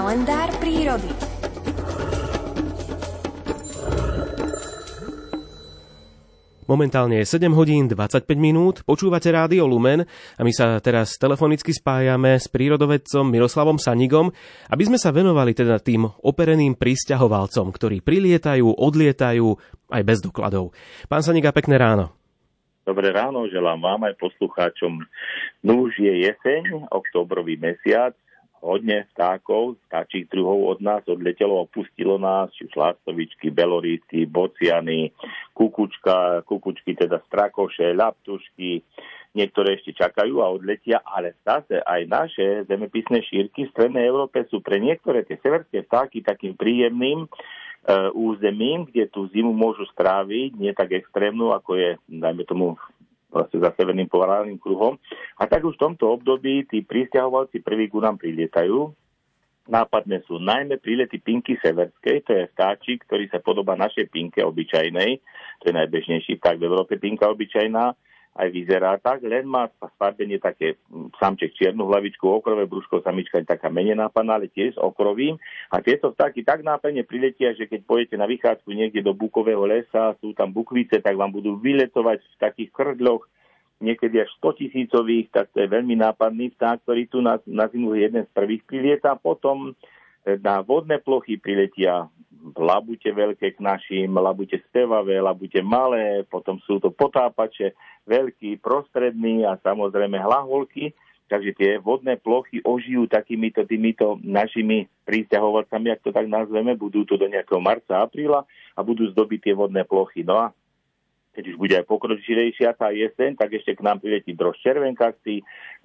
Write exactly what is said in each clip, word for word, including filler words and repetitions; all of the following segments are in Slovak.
Kalendár prírody. Momentálne je sedem hodín dvadsaťpäť minút, počúvate Rádio Lumen a my sa teraz telefonicky spájame s prírodovedcom Miroslavom Sanigom, aby sme sa venovali teda tým opereným prisťahovalcom, ktorí prilietajú, odlietajú aj bez dokladov. Pán Saniga, pekné ráno. Dobré ráno, želám vám aj poslucháčom. Núž je jeseň, októbrový mesiac, hodne vtákov, vtáčich druhov od nás odletelo, opustilo nás, či už lastovičky, belorísky, bociany, kukučka, kukučky, teda strakoše, ľaptušky, niektoré ešte čakajú a odletia, ale zase aj naše zemepisné šírky v strednej Európe sú pre niektoré tie severské vtáky takým príjemným e, územím, kde tú zimu môžu stráviť, nie tak extrémnu, ako je, dajme tomu, vlastne za severným polárnym kruhom. A tak už v tomto období tí prisťahovalci prvý ku nám prilietajú. Nápadné sú najmä prílety pinky severskej, to je vtáčik, ktorý sa podobá našej pinke obyčajnej. To je najbežnejší vták v Európe, pinka obyčajná. Aj vyzerá tak, len má sfarbenie také samček čiernu hlavičku, okrové brúško, samička je taká menej nápadná, ale tiež s okrovím. A tieto vtáky tak nápadne priletia, že keď pôjdete na vychádzku niekde do bukového lesa, sú tam bukvice, tak vám budú vyletovať v takých krdloch, niekedy až stotisícových, tak to je veľmi nápadný vták, ktorý tu na, na zimu jeden z prvých prilieta. Potom na vodné plochy priletia labute veľké k našim, labute spevavé, labute malé, potom sú to potápače, veľký, prostredný a samozrejme hlaholky. Takže tie vodné plochy ožijú takýmito týmito našimi prisťahovalcami, ak to tak nazveme, budú to do nejakého marca, apríla a budú zdobiť tie vodné plochy. No a keď už bude aj pokročilejšia tá jeseň, tak ešte k nám priletí drožď červenkastý,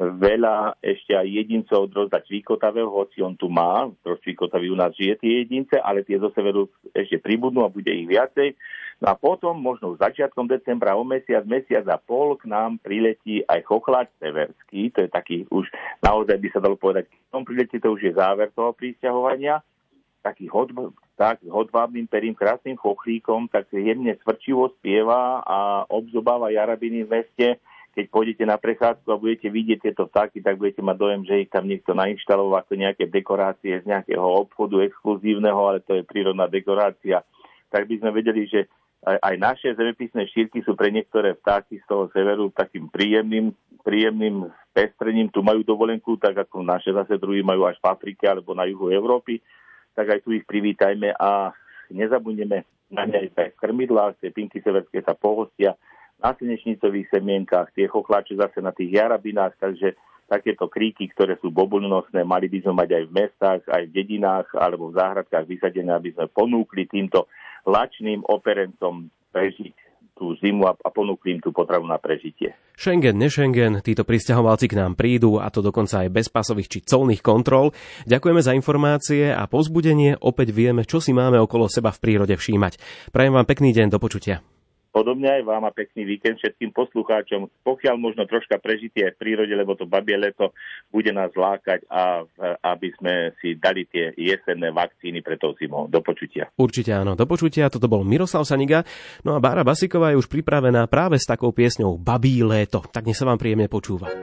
veľa ešte aj jedincov drozda čvíkotavého, hoci on tu má, drožď čvíkotavý u nás žije tie jedince, ale tie zo severu ešte pribudnú a bude ich viacej. No a potom, možno začiatkom decembra, o mesiac, mesiac a pol k nám priletí aj chochláč severský, to je taký už, naozaj by sa dalo povedať, keď tom priletí, to už je záver toho prisťahovania, taký hod, tak, s hodvábnym perím, krásnym chochlíkom, tak jemne svrčivo spieva a obzobáva jarabiny v meste. Keď pôjdete na prechádzku a budete vidieť tieto vtáky, tak budete mať dojem, že ich tam niekto nainštaloval ako nejaké dekorácie z nejakého obchodu exkluzívneho, ale to je prírodná dekorácia. Tak by sme vedeli, že aj, aj naše zemepisné šírky sú pre niektoré vtáky z toho severu takým príjemným, príjemným pestrením. Tu majú dovolenku, tak ako naše zase druhí majú až v Afrike alebo na juhu Európy. Tak aj tu ich privítajme a nezabudneme na ne aj v krmidlách, tie pinky severské sa pohostia na slnečnicových semienkach, tie chochláče zase na tých jarabinách, takže takéto kríky, ktoré sú bobulnosné, mali by sme mať aj v mestách, aj v dedinách alebo v záhradkách vysadené, aby sme ponúkli týmto lačným operencom prežiť tú zimu a ponúkli im tú potravu na prežitie. Schengen, nešengen, títo prisťahovalci k nám prídu, a to dokonca aj bez pasových či colných kontrol. Ďakujeme za informácie a povzbudenie, opäť vieme, čo si máme okolo seba v prírode všímať. Prajem vám pekný deň, do počutia. Podobne aj vám a pekný víkend všetkým poslucháčom. Pokiaľ možno troška prežitie aj v prírode, lebo to babie leto bude nás lákať, a aby sme si dali tie jesenné vakcíny pre tou zimou. Do počutia. Určite áno, do počutia. Toto bol Miroslav Saniga. No a Bára Basiková je už pripravená práve s takou piesňou Babí léto. Tak nech sa vám príjemne počúva.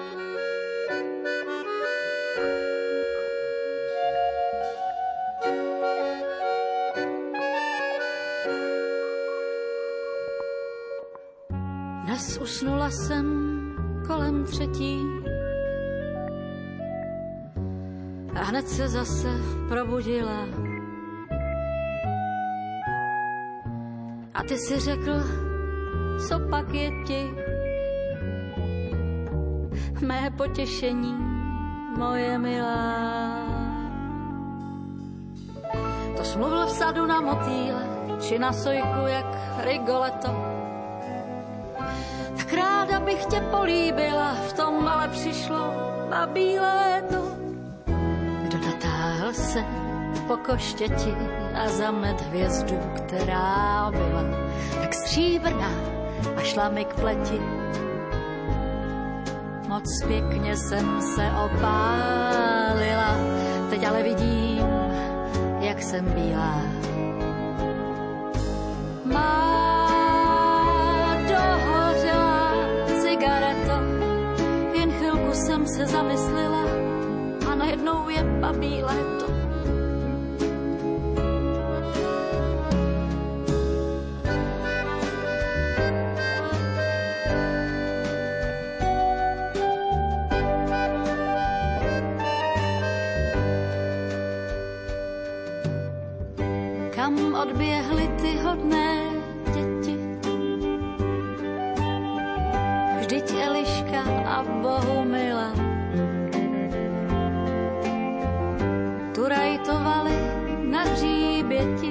Dnes usnula jsem kolem třetí a hned se zase probudila. A ty si řekl, co pak je ti? Mé potěšení, moje milá. To jsi mluvil v sadu na motýle, či na sojku jak Rigoletto. Tak ráda bych tě políbila, v tom ale přišlo babí léto. Kdo natáhl se po koštěti a zamet hvězdu, která byla tak stříbrná a šla mi k pleti. Moc pěkně jsem se opálila, teď ale vidím, jak jsem bílá. Má dohořela cigareta, jen chvilku jsem se zamyslela a najednou je babí léto. odběhly ty hodné děti. Vždyť Eliška a Bohumila tu rajtovali na hříběti.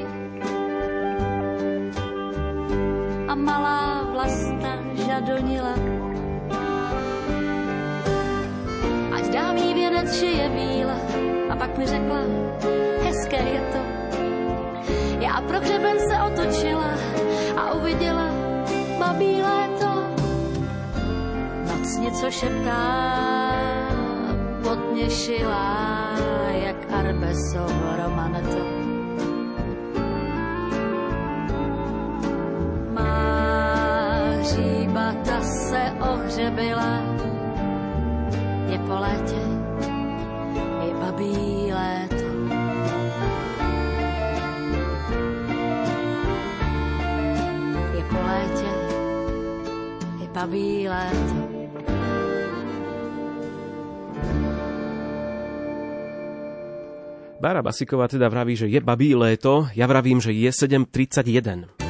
A malá Vlasta žadonila, ať dám jí věnec šije víla. A pak mi řekla, hezké je to. Já pro hřeben se otočila a uviděla babí léto. Noc něco šeptá, botně šilá, jak Arbesovo romaneto. Ta se ohřebila, je po létě, je babí léto. Je po létě, je babí léto. Bára Basiková teda vraví, že je babí léto, ja vravím, že je sedem tridsaťjeden.